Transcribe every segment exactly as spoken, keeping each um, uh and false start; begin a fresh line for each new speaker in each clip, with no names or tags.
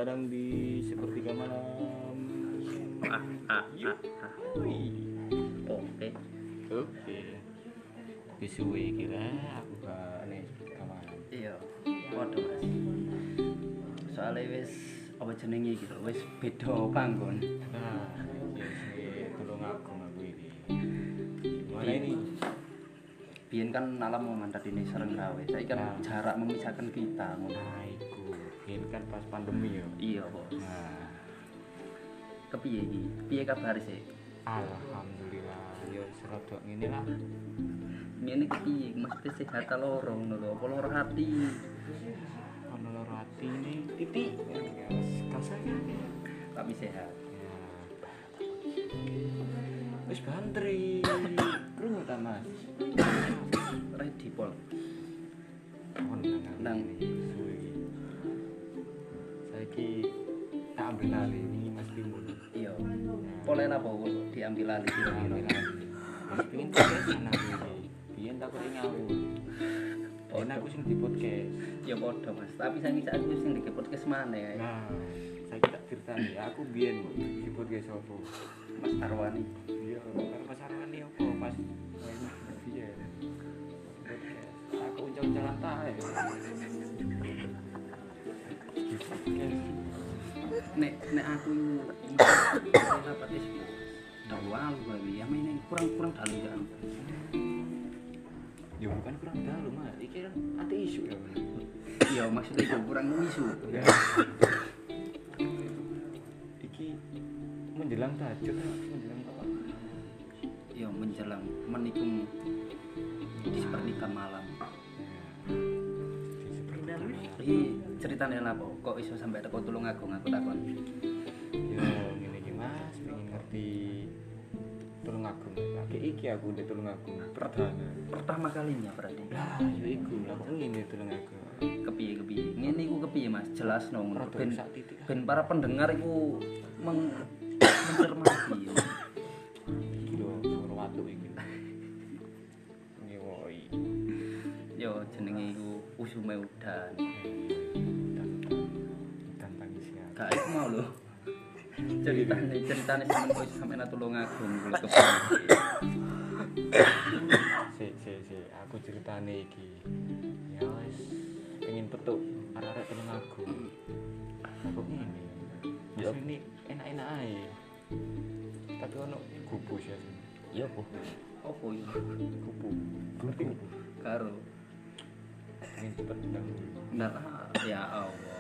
Terkadang di sepertiga malam.
Ah, ah, ah, ah. Oke.
Oke. Kesuwe kira aku gak nih kemana.
Iya. Waduh Mas. Soalnya wis apa jenenge iki lho, wis beda panggon.
Nah, ya sih tolong aku aku ini. Gimana ini?
Biyen kan alam mantap ini sering gawe. Saiki kan
Nah.
jarak memisahkan kita ngono.
Nah, iku. Ini kan pas pandemi ya.
Iya, Bos.
Nah,
Kepiye iki? Piye kabar sih?
alhamdulillah. Yo serodok ngene lah.
Ngene kepiye? Mesti sehat ta loro ngono lho, apa loro hati?
Ono loro ati ini titik. Ya, kasarnya.
Tapi sehat.
Ya. Wis bantri. Krungu ta, Mas?
Ready pol.
Nang
Nang.
suwe iki. Saiki tak ambil alih ini Mas Timun.
Iya. Pole apa kok diambil alih kira-kira?
Ambil alih. Mas pengin podcast ana iki. Biyen takut ngawur. Oh, aku sing di podcast.
Ya padha Mas, tapi saiki saat iki sing di podcast mana ya?
Nah, saiki tak critani, aku biyen di podcast opo?
Mas Tarwani.
Iya, karo Mas Arwani opo pas main biyen. Podcast. Aku uncang-uncangan tae. Di podcast.
Nek nek aku apa tes dawal bae ya main kurang-kurang dalu ya.
Ya bukan kurang dalu, Mas. Iki kan ati isu ya.
Iya maksudnya itu kurang isu.
Ya. Iki menjelang tahajud menjelang apa?
Ya menjelang menikung di sepertiga malam.
Di seperti
Iki ceritane apa? Kok iso sampai teko Tulungagung aku takon.
ya ngene iki Mas, pengen ngerti Tulungagung. Lagi iki aku udah Tulungagung perdana.
Pertama kalinya berarti.
Lah, yo iku lah kok ngene Tulungagung.
Kepiye kepiye? Ngene iku kepiye Mas? Jelas no ngono.
Rada
Ben
sak titik.
ben para pendengar iku meng mencermati.
Iki lho suara watu iki. Ngewoi.
Yo jenenge iku usume udan.
Dan tangisian.
Gak iku mau lho. Ceritane ceritane sampean kok iso sampean Tulungagung kuwi kepiye.
Si si si aku ceritane iki. Ya wis pengen petuk arek-arek Tulungagung. Kok ngene. Ya ini enak-enak ae. Tapi ono gubus ya.
Iya po. Opo yo?
Kupu. Ngerti kupu.
Karo.
Pengen cepet dahulu.
Nah, ya Allah.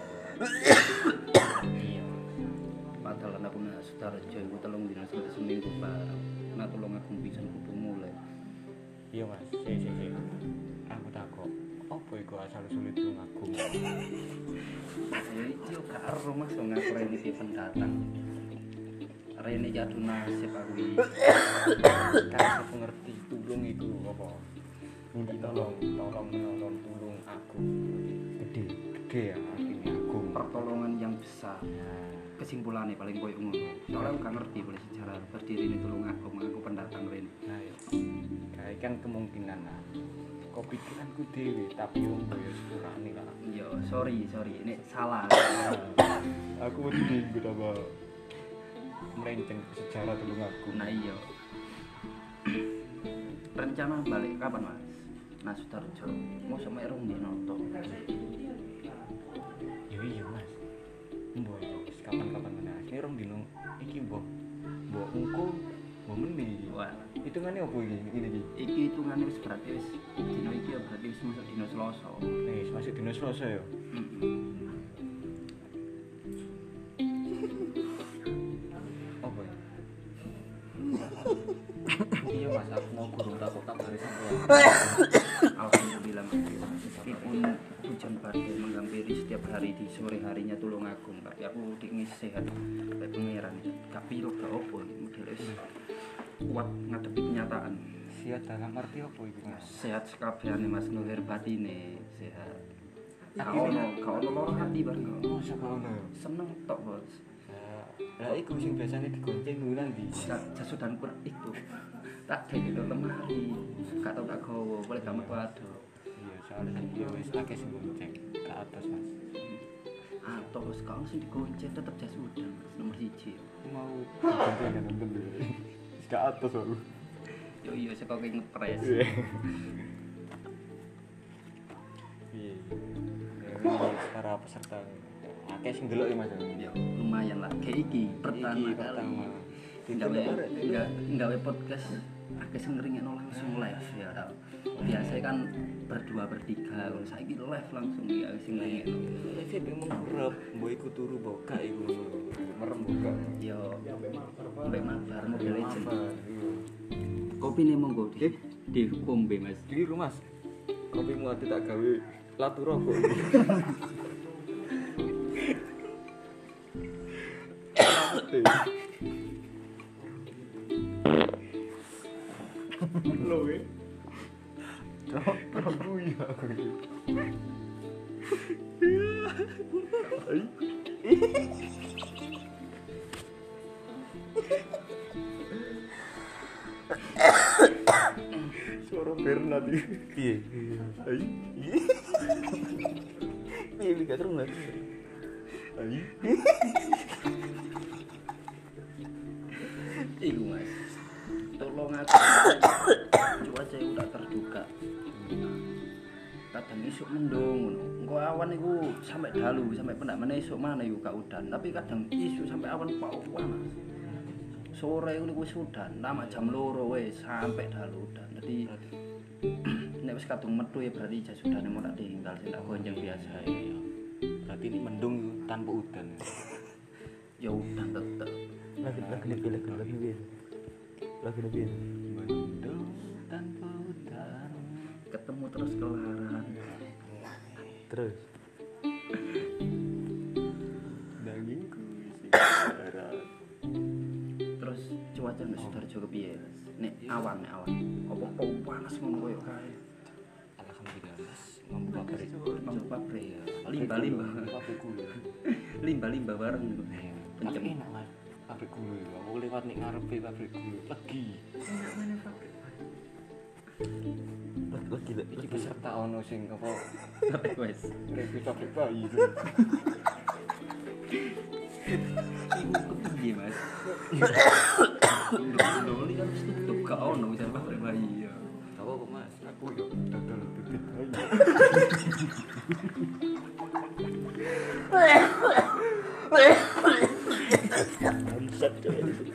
Iya. Padahal aku nak Sutarjo iku telung dina sampe seminggu bareng. Nak tulung aku pisan kudu mulai.
Iya Mas, si si si. Aku takok, opo iku asal sulit Tulungagung?
Ya iki yo gak ero Mas wong aku rene iki pendatang. Rene iki adu nasib aku iki.
Kan aku ngerti tulung iku apa? Minta tolong, tolong menolong tulung aku. Gede, gede ya artinya agung.
Pertolongan yang besar. Kesimpulannya paling koyo ngono. Soalnya aku gak ngerti boleh sejarah berdiri ini Tulungagung, aku pendatang rene.
Nah, ya. Kayak kan kemungkinan lah. Kok pikiranku dewe, tapi wong koyo sepurane lah.
Yo, sorry, sorry. Ini salah.
Aku wedi betapa melenceng ke sejarah Tulungagung.
Nah iya. Rencana balik kapan Mas? Nah Sutarjo, mau sama erong di noto.
Ya iya Mas. Mbok iki wis kapan-kapan meneh. Ini rong dino iki mbok. Mbok engko mbok meni.
Wah,
Hitungane opo iki? Ngene iki.
iki hitungane wis berarti wis dino iki ya berarti wis masuk dino Selasa.
Eh, masih dino Selasa ya. Opo ya?
Iya Mas, aku mau gurung takut tak hari sampai. Alhamdulillah meskipun hujan badai menghampiri setiap hari di sore harinya Tulungagung, tapi aku dingin sehat kayak pangeran. Tapi lo gak opo iki model wis kuat ngadepi kenyataan.
Siap dalam arti opo iki, Mas?
Sehat sekabehane Mas nuhir batine sehat. Gak ono, gak ono loro hati bareng kok.
Oh, sapa ono?
Seneng tok Bos.
Lah iku sing biasane digonceng kuwi nanti.
Jasu dan kur itu. Tak dek itu lemari. Gak tau tak gowo, boleh gak metu ado.
Iya, soalnya kan dia wis akeh sing gonceng ke atas, Mas.
atau sekarang sih digonceng tetap jas udan Mas nomor siji
mau konten kan nonton dulu gak atas aku
yo iya saya kok ngepres
iya iya para peserta akeh sing delok ya Mas
ya lumayan lah kayak iki pertama
iki
kali
pertama
gawe enggak gawe podcast akeh sing ngeringno langsung live ya tau biasa kan berdua bertiga kalau saiki live langsung ya sing ngeringno
live ben mengurep mbok iku turu boga iku merem boga
yo mbek mabar Mobile Legend kopi nih monggo
Eh?
di pombe Mas
Keliru Mas. Kopi mu ati tak gawe latu rokok iki. Loh eh. Cok, aku ya aku. Ai. Suara Bernard iki. Piye? Ai. Piye iki gak terus. Ai.
iku Mas tolong aku cuaca itu tak terduga kadang isuk mendung engko awan iku sampai dalu sampai pendak meneh isuk mana yo gak udan tapi kadang isuk sampai awan pawan Mas sore iku wis udan lama jam loro wis sampai dalu udan dadi nek wis kadung metu ya berarti jas udane mau tak tinggal sing tak gonjeng biasa ya
Berarti ini mendung tanpa udan.
ya udan tetep
lagi lagi lebih lagi lagi lebih lagi lebih
Mendung tanpa udan.
ketemu terus kelaran
terus
Dagingku sekarat.
terus cuaca nek Sudarjo kepiye nek awan nek awan apa kok panas ngono koyo kae
Alhamdulillah Mas, mampu pabrik.
mampu pabrik ya limba-limba
Pabrik gula.
limba-limba bareng
Tapi
kenceng
enak Mas. Pabrik gula itu. Aku lewat nih ngarepe pabrik gula. Legi.
lagi lagi
Iki peserta ono sing apa?
wes
Repi pabrik bayi.
iku kepiye Mas ndoli kan wis tutup gak ono wis pabrik bayi ya
Apa kok Mas? Aku yo dodol bibit bayi.
bangsat coy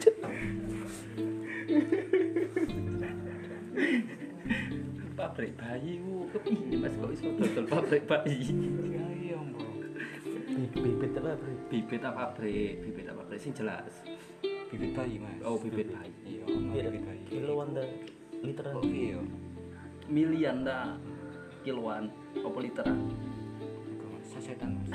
pabrik bayi ku kepiye Mas kok iso dodol pabrik bayi
Ya iya, Mbok.
bibit apa bro
bibit apa pabrik bibit apa pabrik sing jelas
Bibit bayi Mas.
oh bibit bayi
Iya, ono bibit bayi.
kiloan dah literan
Kok piye yo?
milian dah kiloan apa literan
Kok sasetan Mas.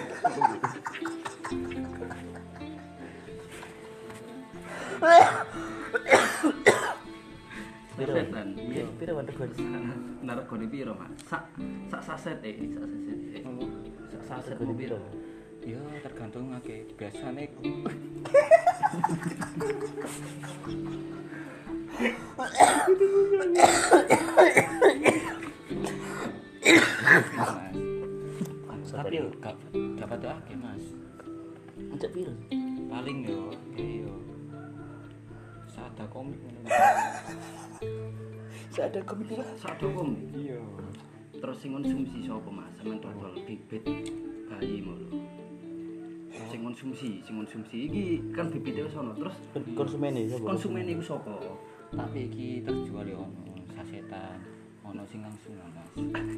sasetan iya
pira wadah gua
naregone piro Mas sak sak saset eh sak saset eh sak saset
Regane
mau piro
Ya tergantung akeh. Biasane ku Mas. Tapi yo gak dapat akeh Mas.
ancak pira
Paling yo kayak yo sada komik ngono.
ada komik lah
sak dokom
Iya.
terus sing konsumsi sapa Mas sampean dodol bibit bayi ngono sing konsumsi sing konsumsi iki kan bibite wis ono terus
konsumen ini siapa
konsumen iku sapa
Tapi iki terjual yo ono sasetan, ono sing langsung Mas.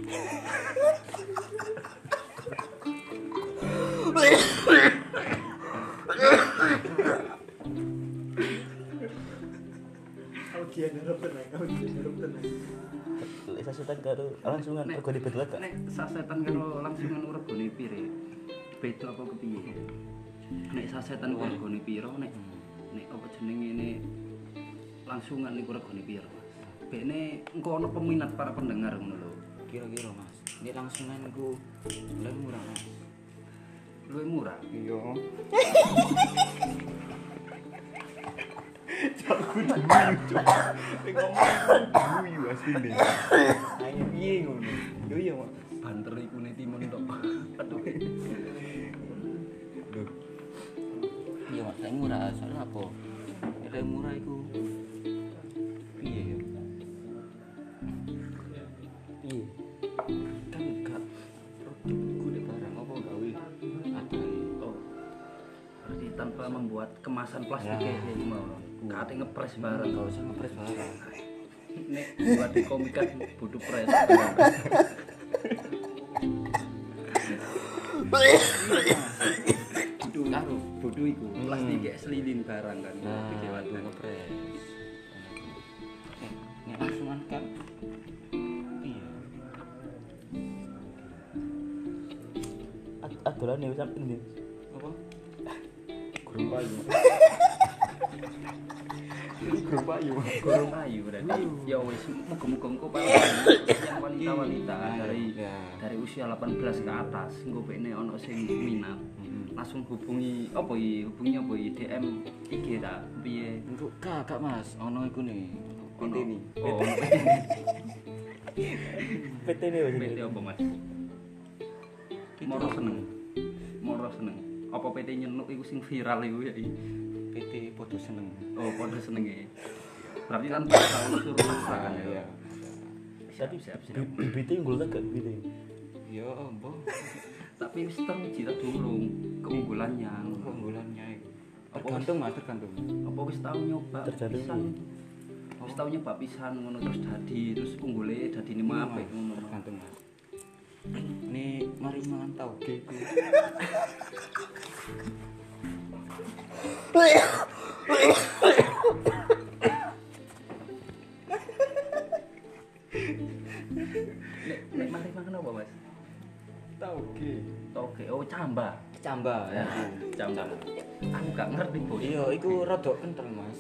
Audian harap tenang, audian harap tenang.
lek sasetan karo langsungan
Nek-
kok dibedel gak
nek sasetan karo langsungan regane pire beda apa kepiye nek sasetan ku regane piro nek nek apa jenenge ini langsungan niku regane piro bekne engko ana peminat para pendengar ngono lho
Kira-kira Mas, ini langsunganku lebih murah Mas.
luwih murah
Iya. Guyu asline. Ayo piye ngono? Yo iya, Mas.
banter iku ne timun tok aduh
murah, soalnya apa? Nek murah iku piye ya?
Iya.
Kan gak produkku nek barang apa gawe adae.
Oh. Berarti tanpa membuat kemasan plastik
Ya.
kayak gini mau. Kate ngepres barang.
Gak usah ngepres barang.
Nek buat di komik kan butuh pres. Butuh karo butuh iku. Plastik kayak selilin barang kan.
Nah,
Pikir
itu
wadah.
ngepres. Eh, nek langsungan kan iya.
Ad- Adolan ya sampe ndi?
Apa? Gurung payu. Ini gurung payu.
Gurung ayu berarti. Ya wis muga-muga engko para yang wanita-wanita dari
Ya.
dari usia delapan belas ke atas engko bekne ono sing minat. Langsung hubungi apa iki? Hubungi apa iki? D M I G ta? Piye?
Untuk kakak Mas, ono iku nih. P T nih.
Oh,
P T ne wis.
P T apa Mas? Moro seneng. Moro seneng. Apa P T nyenuk iku sing viral iku ya?
P T podo seneng.
Oh, padha senenge. Berarti kan tahu unsur maksa kan ya.
Iya.
Siap, siap, siap.
Bibite unggul ta gak bibite?
Ya ambo.
Tapi wis teruji ta durung keunggulannya.
Keunggulannya itu. Tergantung Mas, tergantung.
Apa wis tau nyoba
Tergantung
pisan?
iki.
Wis tau nyoba pisan ngono terus dadi terus unggule dadine apik ngono.
Tergantung Mas. Nih, mari mangan tauge iku.
Nek nek mari makan apa, Mas?
Tauge.
Toge, oh camba.
Camba ya.
Camba. Aku gak ngerti, Bos.
Iya, iku rada kental Mas.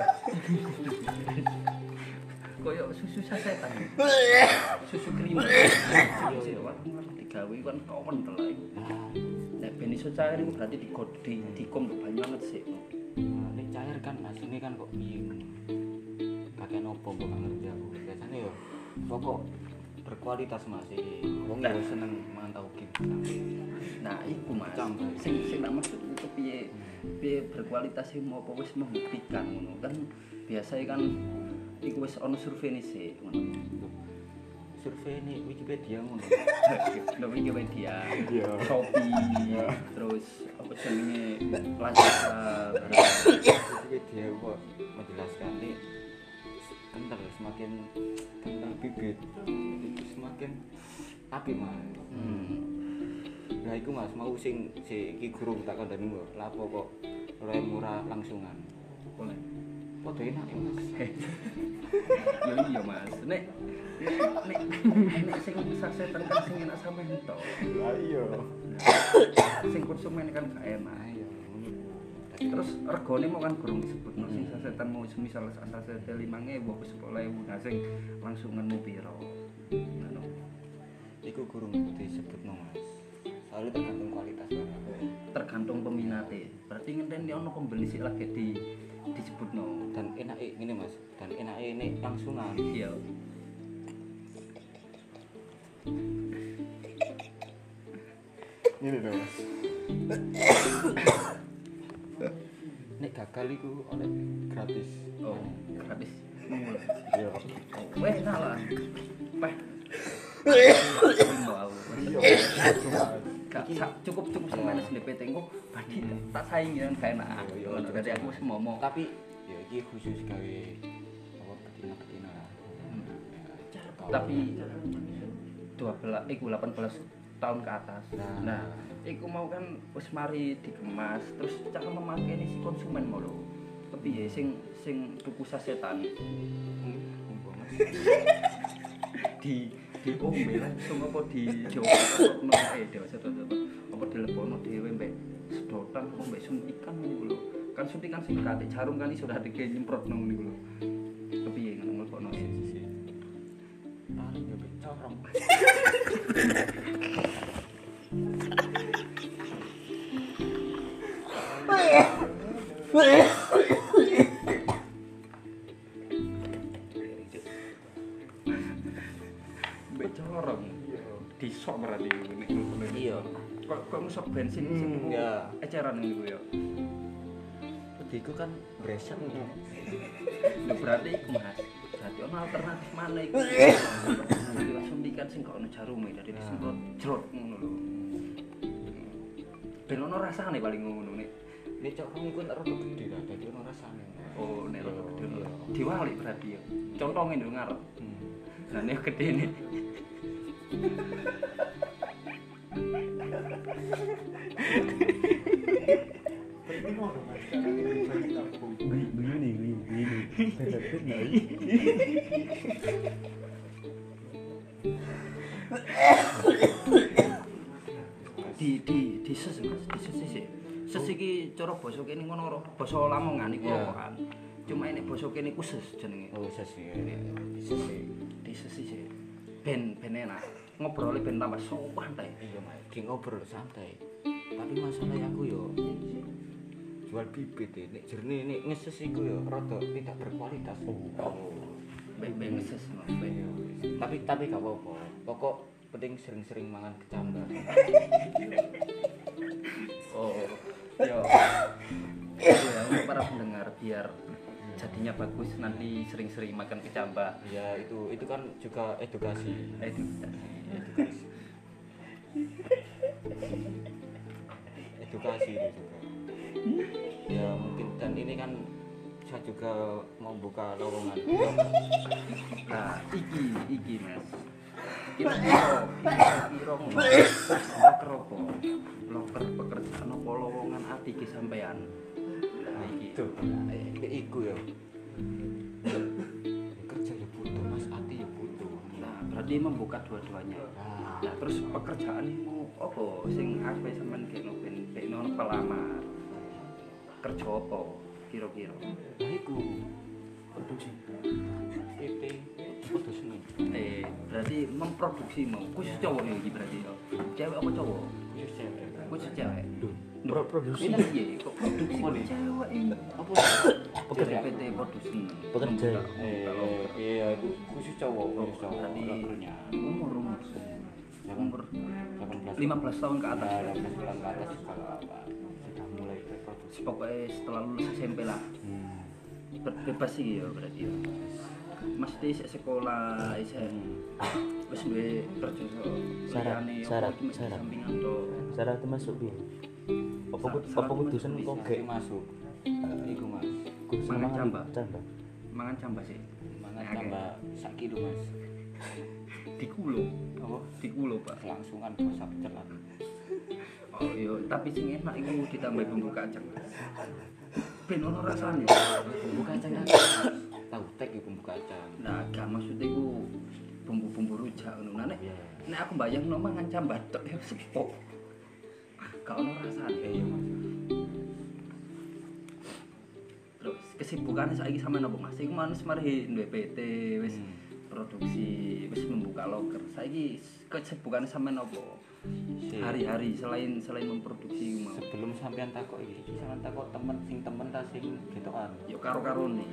Koyo susu sasetan. Susu krim. Iya, waktu digawe kan kawan telak iku.
Nah,
Nek ben iso cair iku berarti digodi, dikom tuh banyak banget sih.
ini cair kan Mas, ini kan kok piye. Kakek nopo mbok gak ngerti aku. Biasanya ya pokok berkualitas Mas iki. Wong ya seneng mangan tauge.
Nah, iku Mas.
Camba.
Sing sing tak maksud itu piye? Piye berkualitas sing mau apa wis membuktikan ngono kan biasanya kan iku wis ono survei sih ngono.
Survei ini Wikipedia ngono.
Nang Wikipedia,
Iya.
Shopee, terus apa jenenge Lazada,
Wikipedia kok menjelaskan nih kental semakin kental bibit itu semakin apik Mas.
Hmm.
Nah iku Mas mau sing si iki guru tak kandhani kok lapo kok ora murah langsungan.
Boleh.
Padha enak ya Mas.
Ya iya Mas. Nek nek nek sing sasetan kan sing enak sampe entok.
Lah iya.
Sing konsumen kan gak enak.
Ayo ngono.
Terus regane mau kan gurung disebut no sing sasetan mau semisal saset lima ribu apa sepuluh ribu nah sing langsungan mau piro. Ngono.
Iku gurung disebutno Mas. Soalnya tergantung kualitas barang.
Tergantung peminate. Berarti ngenteni ono pembeli sik lagi di disebutno.
Dan enake ngene Mas, dan enake ini langsungan.
Iya.
Ngene lho Mas. Nek gagal iku oleh gratis.
Oh, gratis.
Iya.
Weh, salah. Peh. Gak sa- cukup cukup sama S D P T engko badi tak saingi kan gak enak.
Iya, iya,
Ngono, Berarti aku wis momong.
Tapi ya iki khusus gawe apa betina-betina lah.
Tapi dua belas iku delapan belas tahun ke atas.
Nah.
Nah, iku mau kan wis mari dikemas terus cara memakai si konsumen mau lho. Kepiye sing sing tuku sasetan di di ombe langsung apa di jowo eh dewasa apa dilebono dhewe mbek sedotan apa mbek suntikan niku lho. Kan suntikan sing kate jarum kan iso dadi nyemprot nang niku lho. Kepiye ngono mlebono sih.
Paling ya corong.
Mbek corong. Disok berarti nek ngono.
Iya.
Kok kok ngesok bensin sing
Hmm, ya.
eceran niku ya.
iku kan breset ngono.
Lho berarti iku Mas. Berarti ono alternatif mana iku? Langsung dikan sing gak ono jarume dadi disemprot jrot ngono lho. Ben ono rasane paling ngono nek.
Nek cok rong iku tak rada gede lah, dadi ono rasane.
Oh, nek rada gede lho. Diwalik berarti ya. Contonge lho ngarep.
Hmm.
Nah nek gedene.
Berarti mau dong mas, karena ini bagi tabung.
Begini, begini, begini.
di di di ses Mas, di ses sih. Ses iki cara basa kene ngono ora basa Lamongan iku
Iya.
kan. Cuma ini basa kene ku ses jenenge.
Oh, sesi. Sesi.
Di ses sih. Ben ben enak. Ngobrol ben tambah sopan ta.
Iya, Mas. Ki ngobrol santai. Tapi masalah aku yo jual bibit e. Nek jernih nek ngeses iku yo rada tidak berkualitas. Oh.
Ben-ben ses no. Ben.
Tapi tapi gak apa-apa. Pokok penting sering-sering mangan kecambah.
Oh. Yo. Ya, untuk para pendengar biar jadinya bagus nanti sering-sering makan kecambah.
Ya itu itu kan juga edukasi.
Itu
Edukasi. Edukasi itu juga. Ya mungkin dan ini kan saya juga mau buka lowongan.
nah, iki iki Mas. Kira-kira kira-kira ngono. Loker apa? Loker pekerjaan apa lowongan ati ki sampean? Nah, iki.
Tuh, iku ya. Kerja ya butuh, Mas, hati ya butuh.
Nah, berarti membuka dua-duanya.
Nah,
Nah, terus pekerjaan mau apa sing ape sampean kene ben ben ono pelamar. Kerja apa kira-kira?
nah iku produksi. Itu produksi nih.
Eh, berarti memproduksi mau khusus cowok ya iki berarti ya. Cewek apa cowok?
Khusus cewek.
Khusus cewek.
Pro produksi.
Ini iya, kok produksi
Apa nih?
cewek ini.
Apa?
Pekerja P T produksi.
Pekerja.
Eh, iya itu khusus cowok, khusus cowok.
Berarti
Lokernya.
umur umur umur
delapan belas
lima belas tahun ke atas.
Nah, delapan belas tahun ke atas kalau apa sudah mulai berproduksi.
Pokoknya setelah lulus S M P lah.
Hmm.
Be- Bebas sih ya berarti ya. Mas di sekolah isih wis duwe kerja so.
Syarat-
liyane apa
syarat-
iki mek
syarat.
sampingan to.
Syarat masuk piye? Apa
Sa-
kut-
syarat
apa kudusan
masuk
kok
bisa.
gek
masuk. Iku Mas.
kudusan
Mangan
mangan
cambah.
cambah.
Mangan cambah sih.
Mangan
Nah,
tambah sak kilo Mas.
di kulo.
Apa?
Di kulo, Pak.
Kelangsungan basa pecelan.
Oh iya, tapi sing enak iku ditambah bumbu kacang. Ben ono rasane.
Bumbu kacang kan. Tahu tek iku bumbu kacang.
Nah, kan maksudnya iku bumbu-bumbu rujak ngono. Nah, nek
Iya.
nek aku bayangno mangan cambah tok ya sepok. Gak ono rasane.
Eh, iya Mas.
Terus kesibukannya saiki sampean apa Mas? Iku manis mari duwe P T wis
Hmm.
produksi, wis membuka loker. Saiki kesibukannya sampean apa?
Si-
Hari-hari selain selain memproduksi iku mau.
sebelum sampean takok iki, iki sampean takok temen sing temen ta sing getokan.
Yo karo-karone.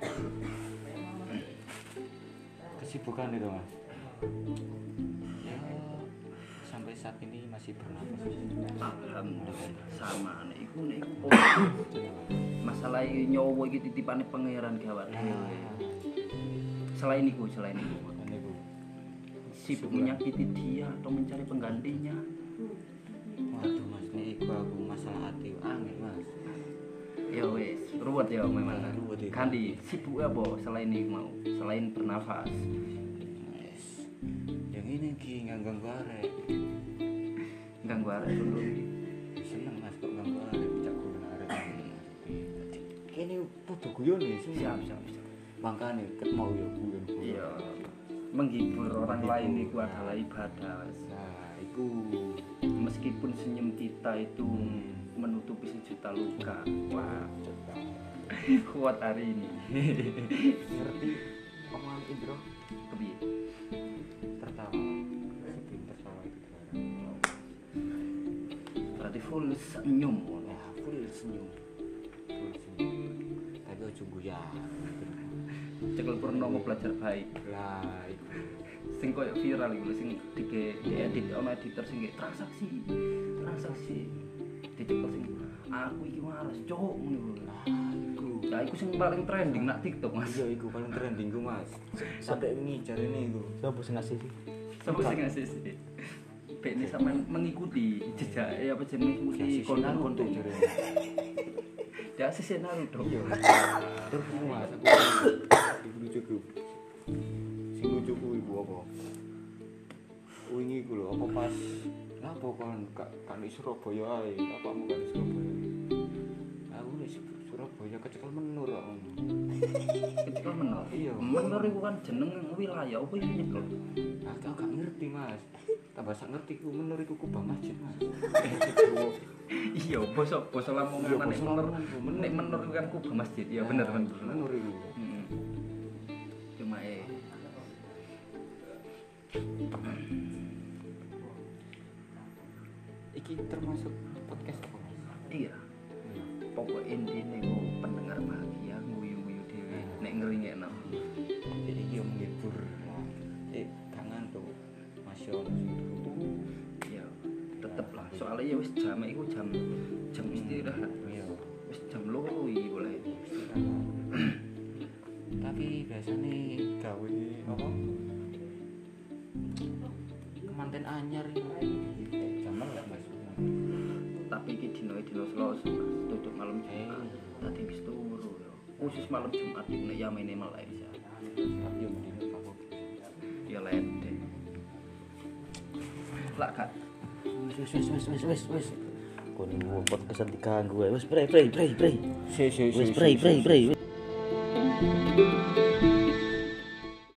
Kesibukan itu Mas. Ya, sampai saat ini masih bernapas.
Alhamdulillah sama nek iku nek iku masalah nyawa iki titipane pangeran gawat dhewe. Selain itu, selain itu,
Ini Bu.
sibuk menyakiti dia atau mencari penggantinya.
Waduh Mas, ini iku aku masalah hati angin Mas.
Ya wes, ruwet ya memang.
Ah, ruwet itu.
Kandi sibuk apa selain itu mau, selain bernafas.
Yes. Yang ini ki nganggang arek.
Ganggu arek dulu.
Seneng Mas kok nganggo arek cak guyon arek. Kene padha guyon nih,
Siap, siap, siap.
Makane ket mau ya guyon.
Iya. Menghibur orang lain itu adalah ibadah. Wes.
Nah, iku
Meskipun senyum kita itu
Hmm.
menutupi sejuta luka.
wah, cepat.
Kuat hari ini.
Ngerti omongan Indro
Kepiye?
tertawa. Sebelum tertawa itu gimana?
Berarti full senyum.
Ya, full senyum. Full senyum. Tapi ojo guyon.
Cekel Purnomo belajar baik.
Lah, iku.
Sing koyo viral iku sing dige diedit ono editor sing kayak transaksi transaksi dicekel sing aku iki waras cok ngono lho.
Ah, iku.
Ya iku sing paling trending nak TikTok Mas.
Iya, iku paling trending ku, Mas. Sampai wingi jarene iku.
Siapa sing ngasih sih?
Sampai sing ngasih sih. Bek ini sampean mengikuti jejak eh apa jenenge mengikuti
Konten
konten-konten
jarene.
Ya sisi Naruto.
Iya. Terus Mas, aku iku lucu ku. Sing lucu ku iku apa? Wingi ku lho, apa pas lapo kan kan di Surabaya ae, apamu kan di Surabaya. Aku di Surabaya kecekel menur kok.
Kecekel menor.
Iya.
Menor iku kan jeneng wilayah apa iki nyekel.
Aku gak ngerti, Mas. Tambah sak ngerti ku menur iku kubah masjid, Mas.
Iya, bosok bosok Lamongan
Iya,
nek
basa
menor.
Lamongan, Bu. Menor.
Nek menor iku kan kubah masjid. Iya bener
Nah,
bener.
menur iku.
Heeh. Cuma eh
Iki termasuk podcast apa, Mas?
iya. Pokok intine ku pendengar bahagia nguyu-nguyu dhewe nek ngeringekno.
Jadi iki yo menghibur. Eh, gak ngantuk. Mas yo
Iya, tetep lah. Soalnya ya wis jam iku jam jam istirahat.
iya.
Wis jam loro iki boleh.
Tapi biasanya gawe apa? Kemanten anyar iki. Jaman gak Mas?
Tapi iki dino-dino Selasa, Mas. Tutup malam Jumat. Tadi wis turu yo. Khusus malam Jumat iki nek yamene Malaysia.
Tapi yo mendino apa?
Ya lede. Lah Kak.
Wis wis wis wis wis wis. Kon ngomong podcastan diganggu ae. Wis pray pray pray pray.
Si si
Wis pray pray pray.